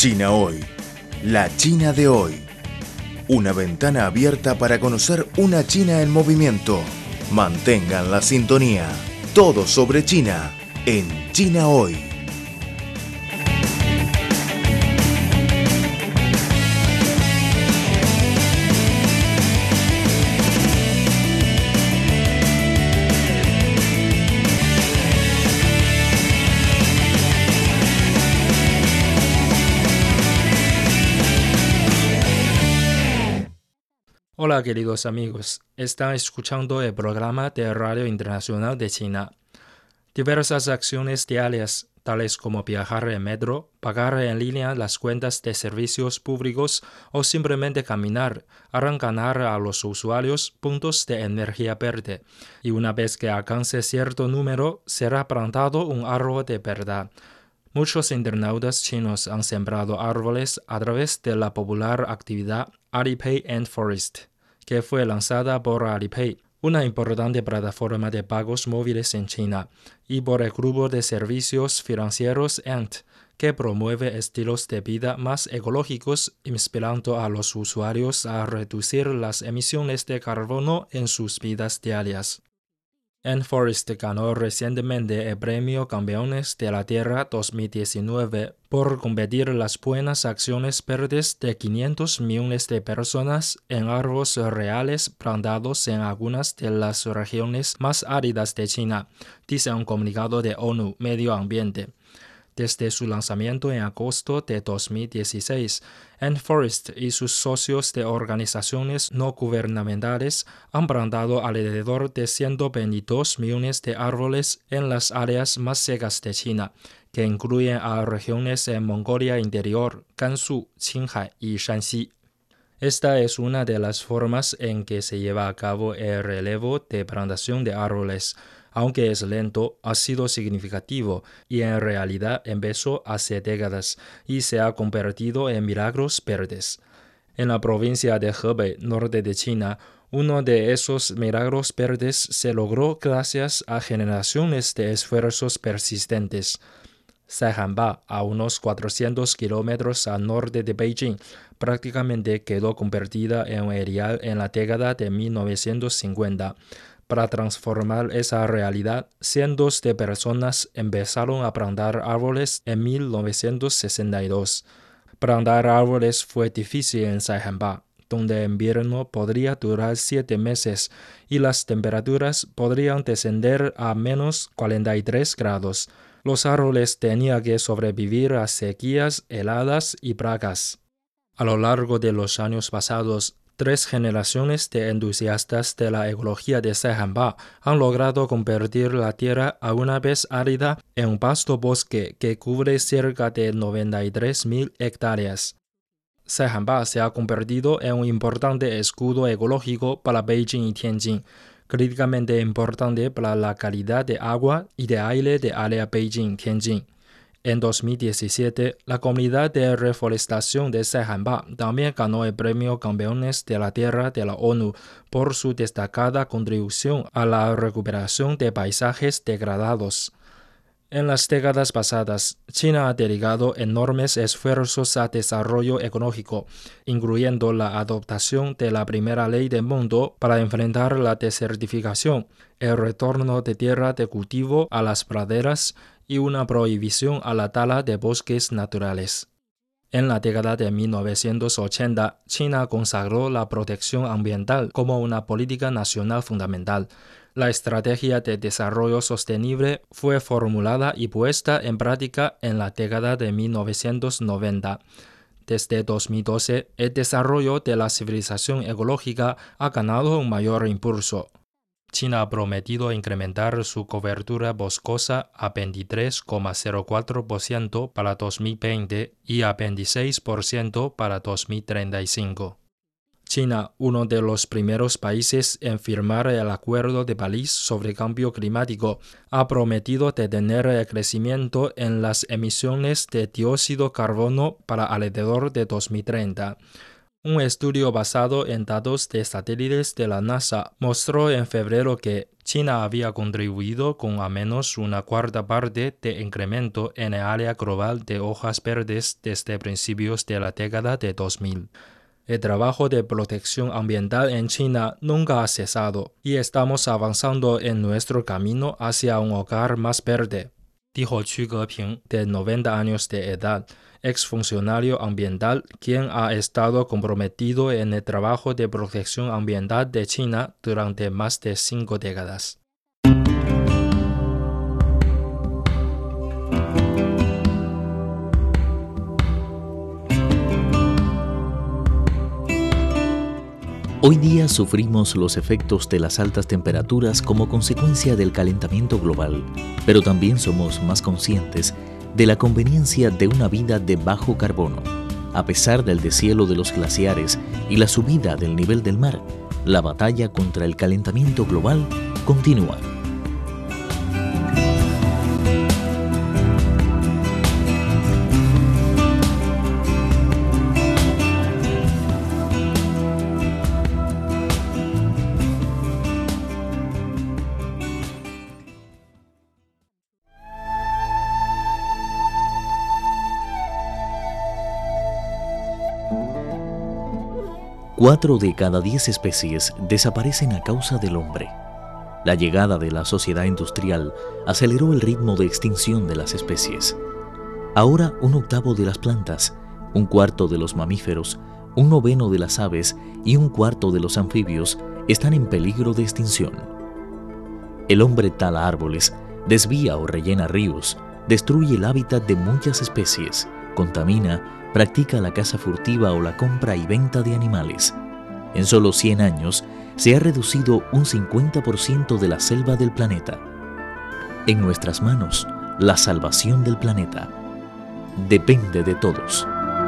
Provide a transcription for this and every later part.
China Hoy, la China de hoy. Una ventana abierta para conocer una China en movimiento. Mantengan la sintonía. Todo sobre China en China Hoy. Hola queridos amigos, están escuchando el programa de Radio Internacional de China. Diversas acciones diarias, tales como viajar en metro, pagar en línea las cuentas de servicios públicos o simplemente caminar, harán ganar a los usuarios puntos de energía verde, y una vez que alcance cierto número, será plantado un árbol de verdad. Muchos internautas chinos han sembrado árboles a través de la popular actividad Alipay and Forest, que fue lanzada por Alipay, una importante plataforma de pagos móviles en China, y por el grupo de servicios financieros Ant, que promueve estilos de vida más ecológicos, inspirando a los usuarios a reducir las emisiones de carbono en sus vidas diarias. Ant Forest ganó recientemente el premio Campeones de la Tierra 2019 por competir las buenas acciones verdes de 500 millones de personas en árboles reales plantados en algunas de las regiones más áridas de China, dice un comunicado de ONU Medio Ambiente. Desde su lanzamiento en agosto de 2016, Ant Forest y sus socios de organizaciones no gubernamentales han plantado alrededor de 122 millones de árboles en las áreas más secas de China, que incluyen a regiones en Mongolia Interior, Gansu, Qinghai y Shanxi. Esta es una de las formas en que se lleva a cabo el relevo de plantación de árboles. Aunque es lento, ha sido significativo y en realidad empezó hace décadas y se ha convertido en milagros verdes. En la provincia de Hebei, norte de China, uno de esos milagros verdes se logró gracias a generaciones de esfuerzos persistentes. Saihanba, a unos 400 kilómetros al norte de Beijing, prácticamente quedó convertida en un erial en la década de 1950. Para transformar esa realidad, cientos de personas empezaron a plantar árboles en 1962. Plantar árboles fue difícil en Saihanba, donde el invierno podría durar 7 meses y las temperaturas podrían descender a menos 43 grados. Los árboles tenían que sobrevivir a sequías heladas y plagas. A lo largo de los años pasados, 3 generaciones de entusiastas de la ecología de Saihanba han logrado convertir la tierra alguna vez árida en un vasto bosque que cubre cerca de 93.000 hectáreas. Saihanba se ha convertido en un importante escudo ecológico para Beijing y Tianjin, críticamente importante para la calidad de agua y de aire de área Beijing-Tianjin. En 2017, la comunidad de reforestación de Saihanba también ganó el premio Campeones de la Tierra de la ONU por su destacada contribución a la recuperación de paisajes degradados. En las décadas pasadas, China ha dedicado enormes esfuerzos a desarrollo ecológico, incluyendo la adoptación de la primera ley del mundo para enfrentar la desertificación, el retorno de tierra de cultivo a las praderas y una prohibición a la tala de bosques naturales. En la década de 1980, China consagró la protección ambiental como una política nacional fundamental. La estrategia de desarrollo sostenible fue formulada y puesta en práctica en la década de 1990. Desde 2012, el desarrollo de la civilización ecológica ha ganado un mayor impulso. China ha prometido incrementar su cobertura boscosa a 23,04% para 2020 y a 26% para 2035. China, uno de los primeros países en firmar el Acuerdo de París sobre cambio climático, ha prometido detener el crecimiento en las emisiones de dióxido de carbono para alrededor de 2030. Un estudio basado en datos de satélites de la NASA mostró en febrero que China había contribuido con al menos una cuarta parte de incremento en el área global de hojas verdes desde principios de la década de 2000. El trabajo de protección ambiental en China nunca ha cesado y estamos avanzando en nuestro camino hacia un hogar más verde, dijo Qu Geping, de 90 años de edad, exfuncionario ambiental, quien ha estado comprometido en el trabajo de protección ambiental de China durante más de 5 décadas. Hoy día sufrimos los efectos de las altas temperaturas como consecuencia del calentamiento global, pero también somos más conscientes de la conveniencia de una vida de bajo carbono. A pesar del deshielo de los glaciares y la subida del nivel del mar, la batalla contra el calentamiento global continúa. Cuatro de cada 10 especies desaparecen a causa del hombre. La llegada de la sociedad industrial aceleró el ritmo de extinción de las especies. Ahora 1/8 de las plantas, 1/4 de los mamíferos, 1/9 de las aves y 1/4 de los anfibios están en peligro de extinción. El hombre tala árboles, desvía o rellena ríos, destruye el hábitat de muchas especies, contamina, practica la caza furtiva o la compra y venta de animales. En solo 100 años se ha reducido un 50% de la selva del planeta. En nuestras manos, la salvación del planeta depende de todos.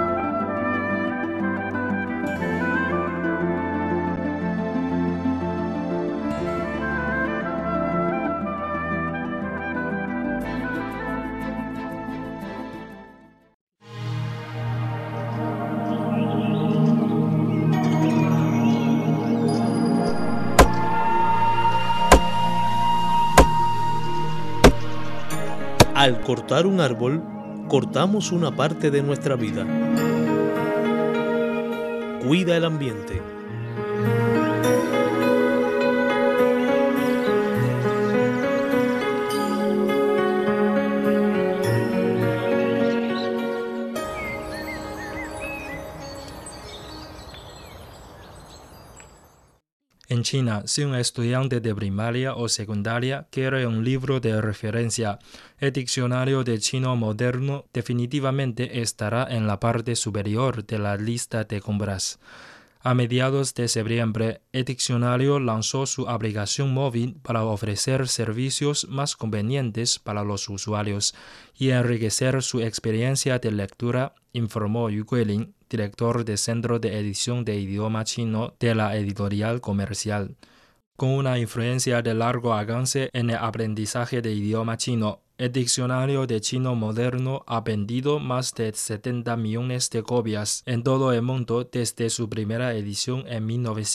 Al cortar un árbol, cortamos una parte de nuestra vida. Cuida el ambiente. En China, si un estudiante de primaria o secundaria quiere un libro de referencia, el diccionario de chino moderno definitivamente estará en la parte superior de la lista de compras. A mediados de septiembre, el diccionario lanzó su aplicación móvil para ofrecer servicios más convenientes para los usuarios y enriquecer su experiencia de lectura, informó Yu Guilin, director del Centro de Edición de Idioma Chino de la Editorial Comercial. Con una influencia de largo alcance en el aprendizaje de idioma chino, el diccionario de chino moderno ha vendido más de 70 millones de copias en todo el mundo desde su primera edición en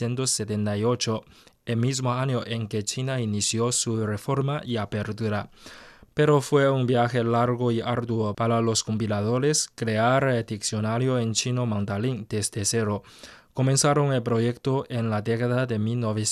1978, el mismo año en que China inició su reforma y apertura. Pero fue un viaje largo y arduo para los compiladores crear el diccionario en chino mandarín desde cero. Comenzaron el proyecto en la década de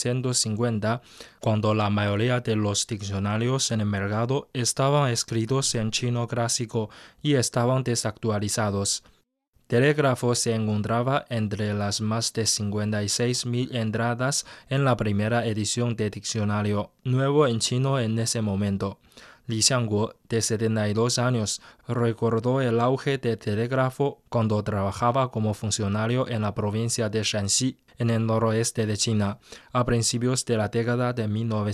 1950, cuando la mayoría de los diccionarios en el mercado estaban escritos en chino clásico y estaban desactualizados. Telégrafo se encontraba entre las más de 56.000 entradas en la primera edición de diccionario nuevo en chino en ese momento. Li Xiangguo, de 72 años, recordó el auge del telégrafo cuando trabajaba como funcionario en la provincia de Shanxi, en el noroeste de China, a principios de la década de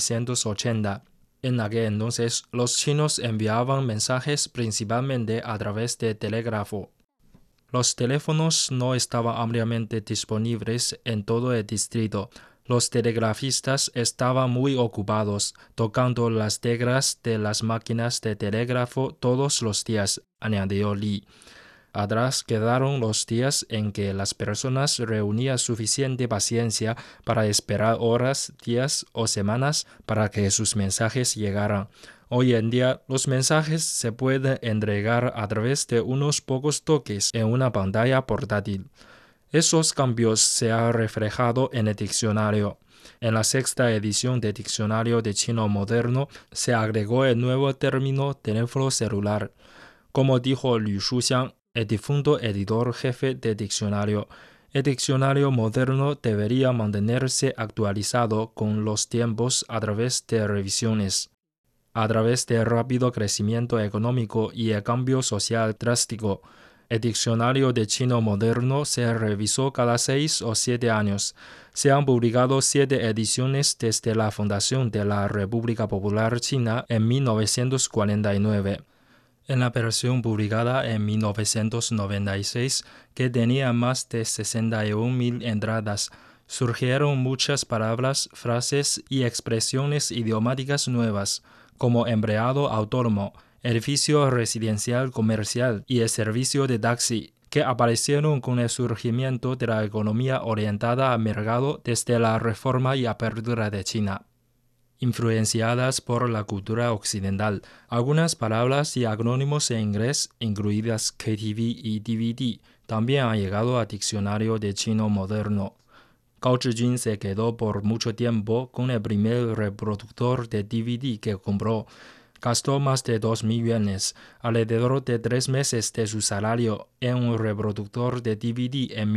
1980. En aquel entonces, los chinos enviaban mensajes principalmente a través de telégrafo. Los teléfonos no estaban ampliamente disponibles en todo el distrito. Los telegrafistas estaban muy ocupados tocando las teclas de las máquinas de telégrafo todos los días, añadió Li. Atrás quedaron los días en que las personas reunían suficiente paciencia para esperar horas, días o semanas para que sus mensajes llegaran. Hoy en día, los mensajes se pueden entregar a través de unos pocos toques en una pantalla portátil. Esos cambios se han reflejado en el diccionario. En la sexta edición del Diccionario de Chino Moderno se agregó el nuevo término teléfono celular. Como dijo Liu Shuxiang, el difunto editor jefe del diccionario, el diccionario moderno debería mantenerse actualizado con los tiempos a través de revisiones. A través del rápido crecimiento económico y el cambio social drástico, el diccionario de chino moderno se revisó cada 6 o 7 años. Se han publicado 7 ediciones desde la fundación de la República Popular China en 1949. En la versión publicada en 1996, que tenía más de 61.000 entradas, surgieron muchas palabras, frases y expresiones idiomáticas nuevas, como empleado autónomo, edificio residencial comercial y el servicio de taxi, que aparecieron con el surgimiento de la economía orientada al mercado desde la reforma y apertura de China. Influenciadas por la cultura occidental, algunas palabras y acrónimos en inglés, incluidas KTV y DVD, también han llegado al diccionario de chino moderno. Gao Zhijun se quedó por mucho tiempo con el primer reproductor de DVD que compró. Gastó más de 2.000 yuanes, alrededor de 3 meses de su salario, en un reproductor de DVD en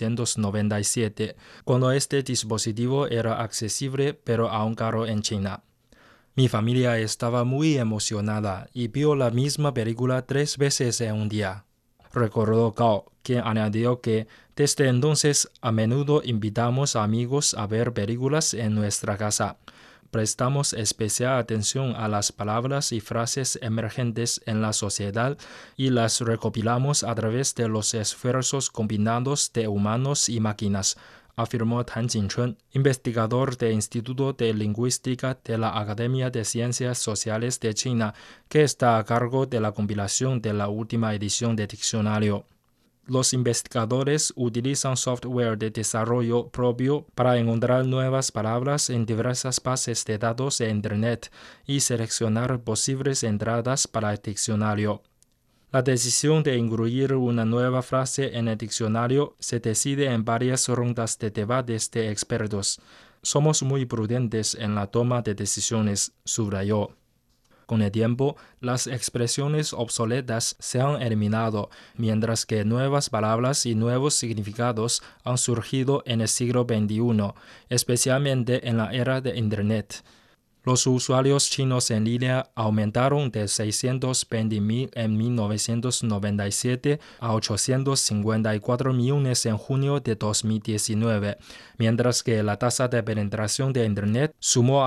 1997, cuando este dispositivo era accesible pero aún caro en China. Mi familia estaba muy emocionada y vio la misma película 3 veces en un día. Recordó Gao, quien añadió que desde entonces a menudo invitamos a amigos a ver películas en nuestra casa. Prestamos especial atención a las palabras y frases emergentes en la sociedad y las recopilamos a través de los esfuerzos combinados de humanos y máquinas, afirmó Tan Jinchun, investigador del Instituto de Lingüística de la Academia de Ciencias Sociales de China, que está a cargo de la compilación de la última edición del diccionario. Los investigadores utilizan software de desarrollo propio para encontrar nuevas palabras en diversas bases de datos de Internet y seleccionar posibles entradas para el diccionario. La decisión de incluir una nueva frase en el diccionario se decide en varias rondas de debates de expertos. Somos muy prudentes en la toma de decisiones, subrayó. Con el tiempo, las expresiones obsoletas se han eliminado, mientras que nuevas palabras y nuevos significados han surgido en el siglo XXI, especialmente en la era de Internet. Los usuarios chinos en línea aumentaron de 620.000 en 1997 a 854 millones en junio de 2019, mientras que la tasa de penetración de Internet sumó a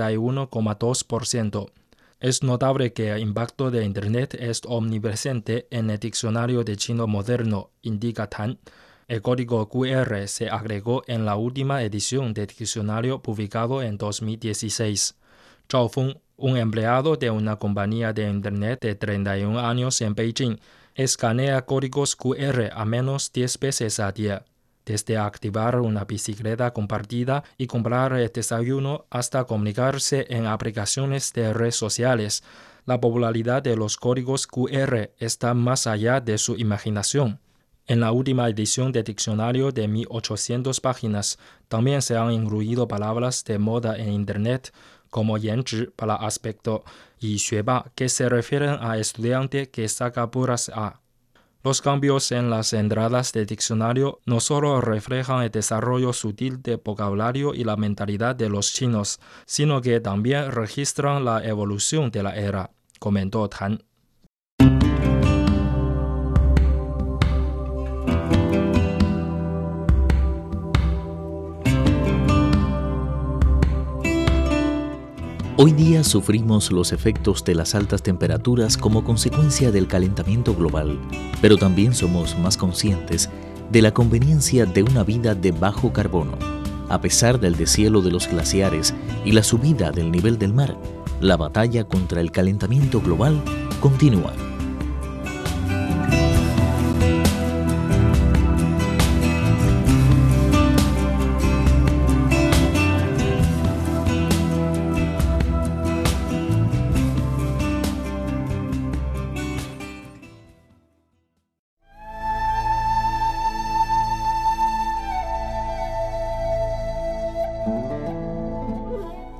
61,2%. Es notable que el impacto de Internet es omnipresente en el diccionario de chino moderno, indica Tan. El código QR se agregó en la última edición del diccionario publicado en 2016. Zhao Feng, un empleado de una compañía de Internet de 31 años en Beijing, escanea códigos QR a menos 10 veces al día. Desde activar una bicicleta compartida y comprar el desayuno hasta comunicarse en aplicaciones de redes sociales, la popularidad de los códigos QR está más allá de su imaginación. En la última edición del diccionario de 1.800 páginas, también se han incluido palabras de moda en Internet, como yanzhi para aspecto y xueba, que se refieren a estudiante que saca puras A. Los cambios en las entradas del diccionario no solo reflejan el desarrollo sutil del vocabulario y la mentalidad de los chinos, sino que también registran la evolución de la era, comentó Tan. Hoy día sufrimos los efectos de las altas temperaturas como consecuencia del calentamiento global, pero también somos más conscientes de la conveniencia de una vida de bajo carbono. A pesar del deshielo de los glaciares y la subida del nivel del mar, la batalla contra el calentamiento global continúa.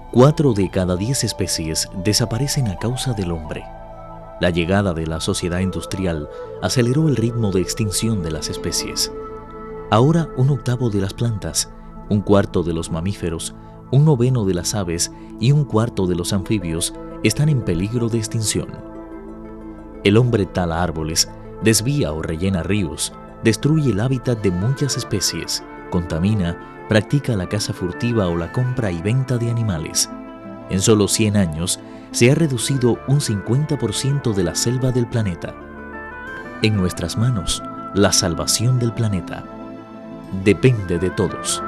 4 de cada 10 especies desaparecen a causa del hombre. La llegada de la sociedad industrial aceleró el ritmo de extinción de las especies. Ahora 1/8 de las plantas, 1/4 de los mamíferos, 1/9 de las aves y 1/4 de los anfibios están en peligro de extinción. El hombre tala árboles, desvía o rellena ríos, destruye el hábitat de muchas especies, contamina, practica la caza furtiva o la compra y venta de animales. En solo 100 años se ha reducido un 50% de la selva del planeta. En nuestras manos, la salvación del planeta depende de todos.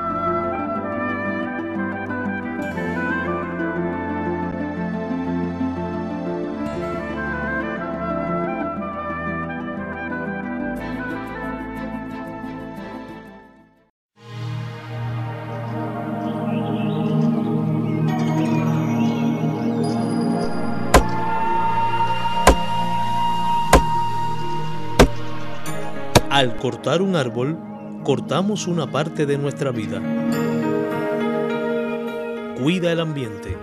Al cortar un árbol, cortamos una parte de nuestra vida. Cuida el ambiente.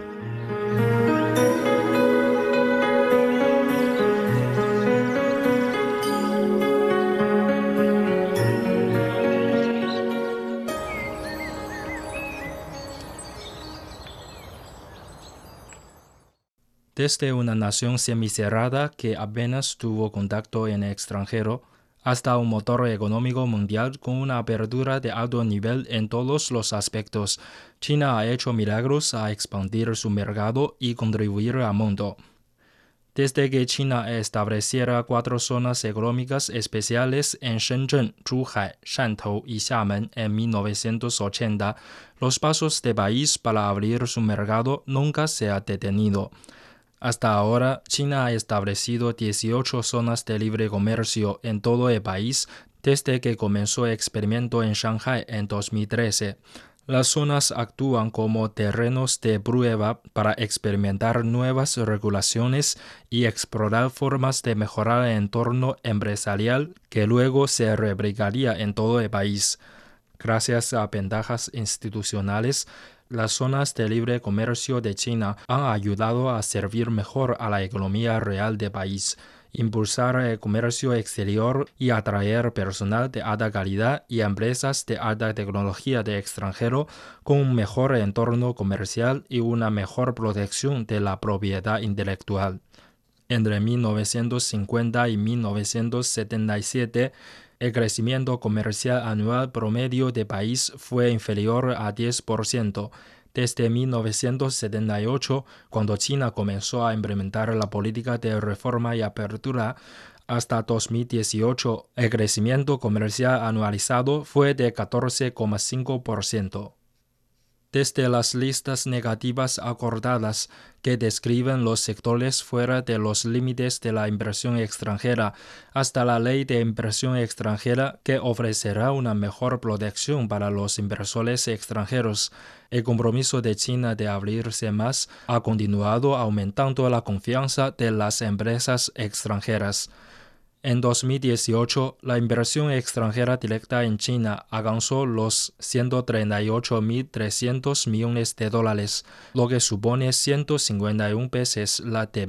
Desde una nación semicerrada que apenas tuvo contacto en el extranjero, hasta un motor económico mundial con una apertura de alto nivel en todos los aspectos, China ha hecho milagros a expandir su mercado y contribuir al mundo. Desde que China estableciera 4 zonas económicas especiales en Shenzhen, Zhuhai, Shantou y Xiamen en 1980, los pasos del país para abrir su mercado nunca se han detenido. Hasta ahora, China ha establecido 18 zonas de libre comercio en todo el país desde que comenzó el experimento en Shanghai en 2013. Las zonas actúan como terrenos de prueba para experimentar nuevas regulaciones y explorar formas de mejorar el entorno empresarial que luego se replicaría en todo el país. Gracias a ventajas institucionales, las zonas de libre comercio de China han ayudado a servir mejor a la economía real del país, impulsar el comercio exterior y atraer personal de alta calidad y empresas de alta tecnología de extranjero con un mejor entorno comercial y una mejor protección de la propiedad intelectual. Entre 1950 y 1977, el crecimiento comercial anual promedio del país fue inferior a 10%. Desde 1978, cuando China comenzó a implementar la política de reforma y apertura, hasta 2018, el crecimiento comercial anualizado fue de 14,5%. Desde las listas negativas acordadas que describen los sectores fuera de los límites de la inversión extranjera, hasta la ley de inversión extranjera que ofrecerá una mejor protección para los inversores extranjeros, el compromiso de China de abrirse más ha continuado aumentando la confianza de las empresas extranjeras. En 2018, la inversión extranjera directa en China alcanzó los 138.300 millones de dólares, lo que supone 151 veces la de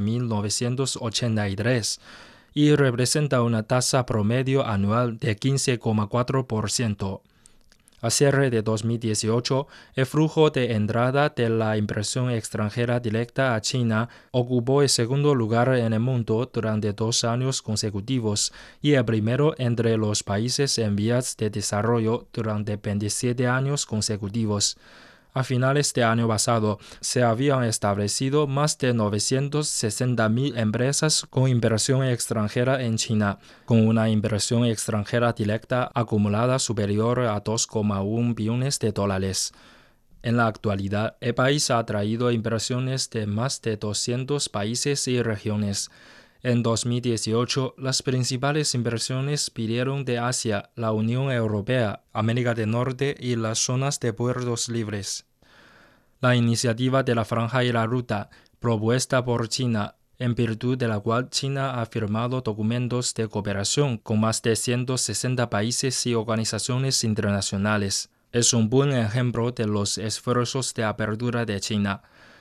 1983, y representa una tasa promedio anual de 15,4%. A cierre de 2018, el flujo de entrada de la inversión extranjera directa a China ocupó el segundo lugar en el mundo durante 2 años consecutivos y el primero entre los países en vías de desarrollo durante 27 años consecutivos. A finales del año pasado, se habían establecido más de 960.000 empresas con inversión extranjera en China, con una inversión extranjera directa acumulada superior a 2,1 billones de dólares. En la actualidad, el país ha atraído inversiones de más de 200 países y regiones. En 2018, las principales inversiones vinieron de Asia, la Unión Europea, América del Norte y las zonas de puertos libres. La iniciativa de la Franja y la Ruta, propuesta por China, en virtud de la cual China ha firmado documentos de cooperación con más de 160 países y organizaciones internacionales, es un buen ejemplo de los esfuerzos de apertura de China.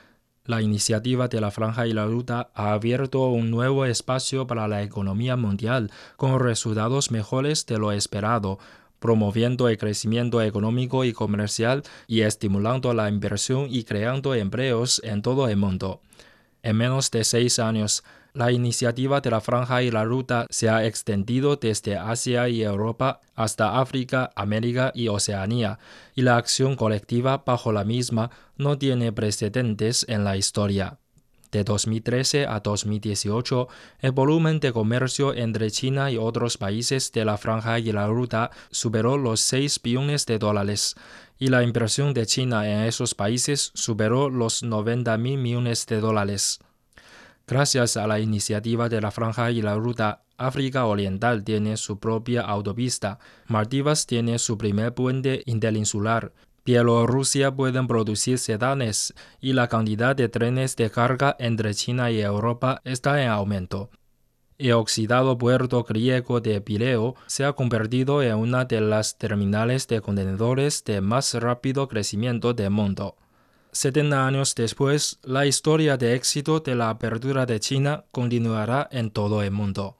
La iniciativa de la Franja y la Ruta ha abierto un nuevo espacio para la economía mundial, con resultados mejores de lo esperado, promoviendo el crecimiento económico y comercial y estimulando la inversión y creando empleos en todo el mundo. En menos de 6 años, la iniciativa de la Franja y la Ruta se ha extendido desde Asia y Europa hasta África, América y Oceanía, y la acción colectiva bajo la misma no tiene precedentes en la historia. De 2013 a 2018, el volumen de comercio entre China y otros países de la Franja y la Ruta superó los 6 billones de dólares, y la inversión de China en esos países superó los 90.000 millones de dólares. Gracias a la iniciativa de la Franja y la Ruta, África Oriental tiene su propia autopista, Maldivas tiene su primer puente interinsular, Bielorrusia pueden producir sedanes y la cantidad de trenes de carga entre China y Europa está en aumento. El oxidado puerto griego de Pireo se ha convertido en una de las terminales de contenedores de más rápido crecimiento del mundo. 70 años después, la historia de éxito de la apertura de China continuará en todo el mundo.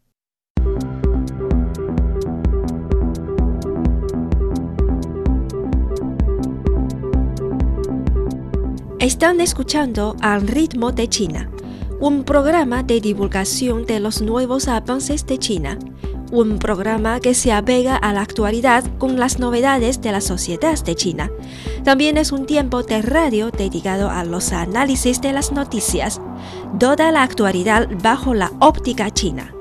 Están escuchando Al ritmo de China, un programa de divulgación de los nuevos avances de China, un programa que se apega a la actualidad con las novedades de la sociedad de China. También es un tiempo de radio dedicado a los análisis de las noticias, toda la actualidad bajo la óptica china.